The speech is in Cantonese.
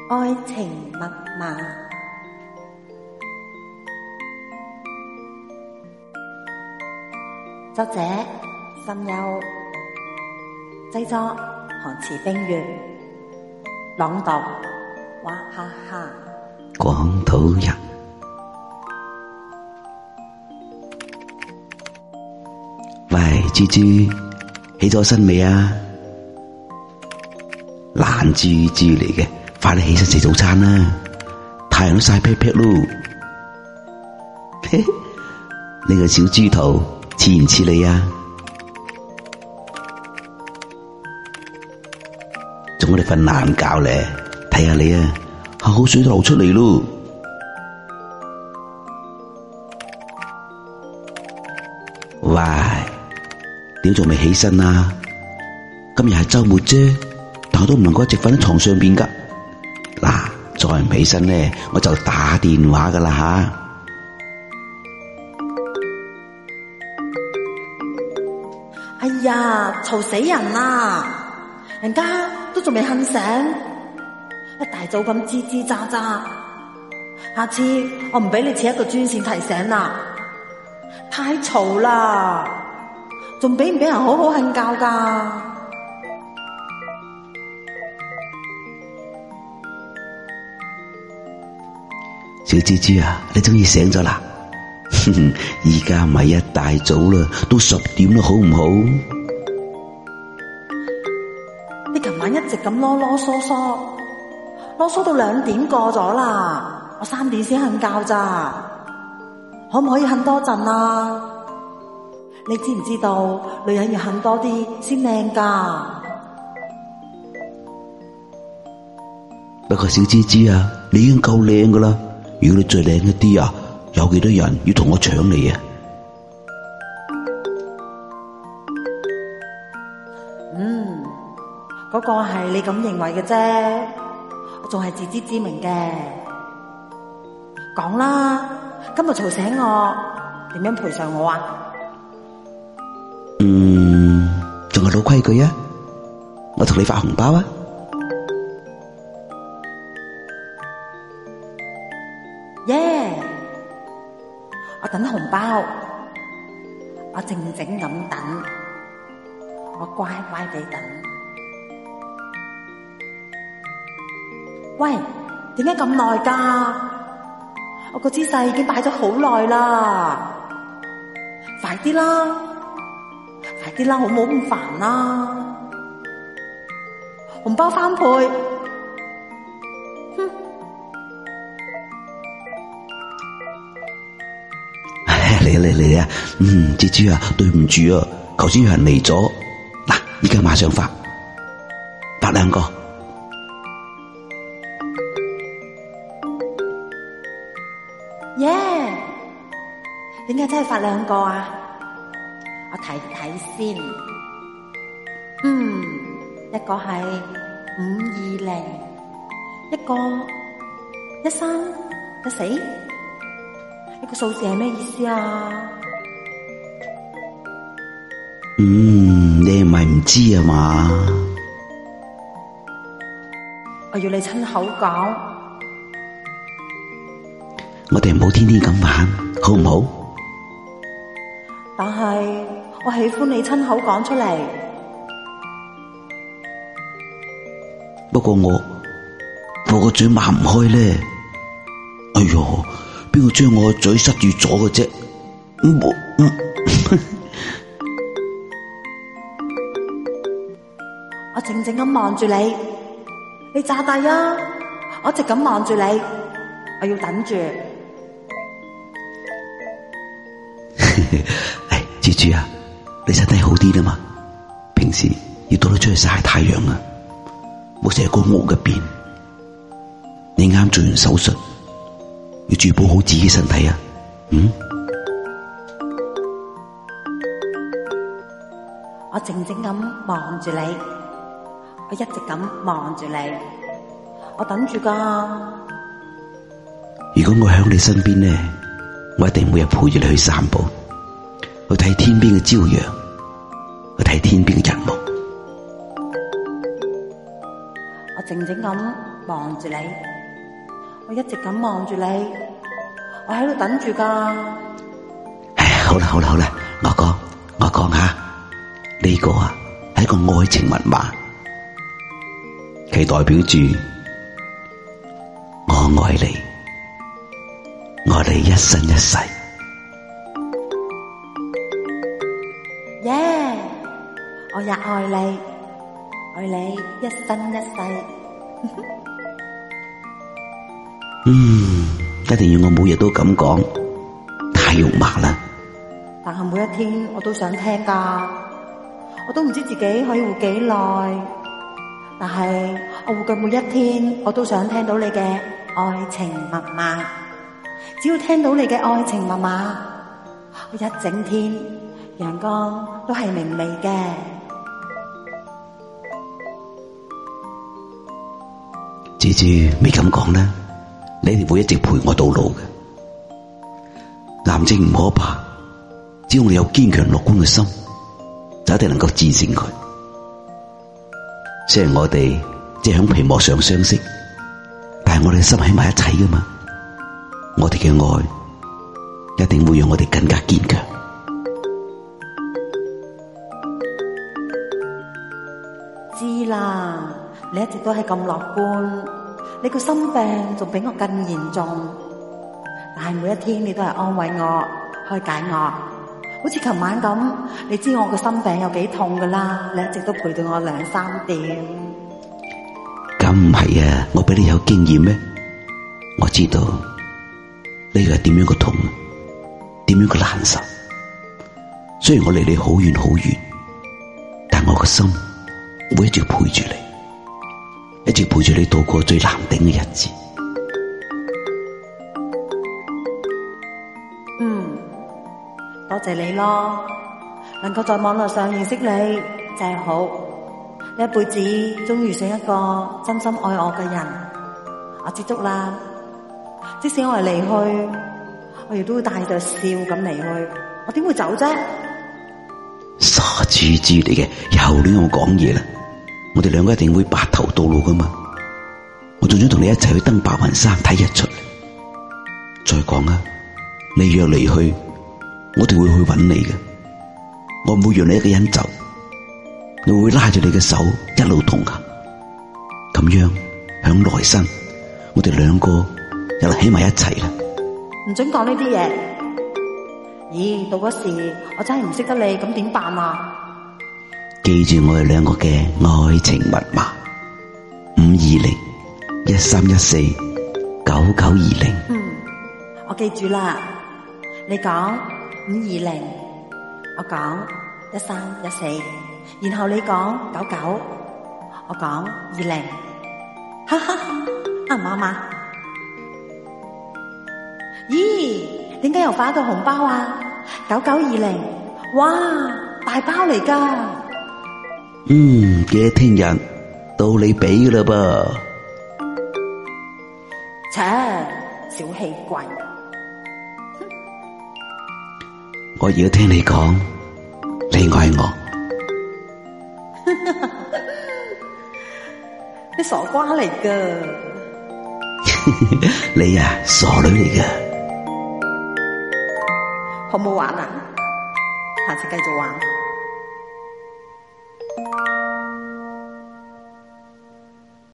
愛情密碼，作者心憂，製作韓池冰月，朗讀娃哈哈。 廣土人，喂，豬豬，起咗身未啊？懶豬豬嚟嘅，快啲起身食早餐啦！太陽都曬劈劈咯。呢個小豬頭似唔似你啊？仲我哋瞓懶覺咧，睇下你啊，口水都流出嚟咯。喂，點仲未起身啊？今日係周末啫，但我都唔能夠一直瞓喺床上邊噶。嗱，再唔起身咧，我就打電話噶啦吓。 哎呀，嘈死人啦！人家都仲未瞓醒，一大早咁吱吱喳喳。下次我唔俾你設一個專線提醒啦，太嘈啦，仲俾唔俾人好好瞓覺噶？ 小豬豬啊，你終於醒咗啦！而家唔係一大早啦，都10點啦，好唔好？ 你琴晚一直咁囉囉嗦嗦，囉嗦到2點過咗啦，我3點先瞓覺咋，可唔可以瞓多陣啊？你知唔知道女人要瞓多啲先靚噶？ 不過小豬豬啊，你已經夠靚噶啦，如果你再靚一啲啊，有幾多人要同我搶你啊？ 嗰個係你咁認為嘅啫，我仲係自知之明嘅。講啦，今日嘈醒我，點樣賠償我啊？ 仲係老規矩啊，我同你發紅包啊！ 耶！我等紅包，我靜靜咁等，我乖乖地等。喂，點解咁耐㗎？我個姿勢已經擺咗好耐啦，快啲啦，快啲啦，好唔好咁煩啦？紅包翻倍， 嚟啊！豬豬啊，對唔住啊，頭先有人嚟咗，嗱，而家馬上發2個。 耶！點解真係發2個啊？我睇睇先。一個係520，一個1314，呢個數字係咩意思啊？ 你唔係唔知啊嘛？ 我要你親口講。 我哋唔好天天咁玩，好唔好？ 但係我喜歡你親口講出嚟。 不過我個嘴擘唔開咧。哎喲，邊個將我個嘴塞住咗嘅啫？ 我靜靜咁望住你，你詐帝啊！我一直咁望住你，我要等住。 唉，豬豬啊，你身體好啲啦嘛？平時要多啲出去曬太陽啊，冇成日喺屋入邊。你啱做完手術，要注意保好自己身體啊。 我靜靜咁望住你，我一直咁望住你，我等住噶。 如果我喺你身邊咧，我一定每日陪住你去散步，去睇天邊嘅朝陽，去睇天邊嘅日暮。 我靜靜咁望住你，我一直咁望住你，我喺度等住噶。 好啦，我講下呢個啊係一個愛情密碼，佢代表住我愛你，我哋一生一世。 耶！我也愛你，愛你一生一世。 一定要我每日都咁講，太肉麻啦。 但係每一天我都想聽噶，我都唔知自己可以活幾耐。但係我活嘅每一天，我都想聽到你嘅愛情密碼。只要聽到你嘅愛情密碼，我一整天陽光都係明媚嘅。 豬豬咪咁講啦，你哋會一直陪我到老嘅。癌症唔可怕，只要你有堅強樂觀嘅心，就一定能夠戰勝佢。雖然我哋只係響屏幕上相識，但係我哋嘅心喺埋一齊噶嘛。我哋嘅愛一定會讓我哋更加堅強。 知啦，你一直都係咁樂觀，你個心病仲比我更嚴重。但係每一天你都係安慰我，開解我。好似琴晚咁，你知我個心病有幾痛噶啦，你一直都陪到我2-3點。 咁唔係啊，我比你有經驗咩？我知道呢個係點樣個痛，點樣個難受。雖然我離你好遠好遠，但我個心會一直陪住你，一直陪住你度過最難頂嘅日子。 多謝你咯，能夠在網絡上認識你真係好。你一輩子終於遇上一個真心愛我嘅人，我知足啦。即使我係離去，我亦都會帶着笑咁離去。我點會走啫？ 傻豬豬嚟嘅，又亂咁講嘢啦！我哋兩個一定會白頭到老噶嘛。我仲想同你一齊去登白雲山睇日出。再講啊，你若離去，我哋會去揾你嘅。我唔會讓你一個人走，我會拉住你嘅手一路同行。咁樣響來生，我哋兩個又喺埋一齊啦。 唔准講呢啲嘢。咦，到嗰時我真係唔識得你，咁點辦啊？ 記住我哋兩個嘅愛情密碼：520-1314-9920。 我記住啦。你講520，我講1314，然後你講99，我講20。哈哈，啱唔啱啊？咦，點解又發一個紅包啊？9920，哇，大包嚟噶！ 記得聽日到你俾噶啦噃。 切，小氣鬼！ 我而家聽你講，你愛我。 你傻瓜嚟噶！ 你啊，傻女嚟噶。 好唔好玩啊？下次繼續玩。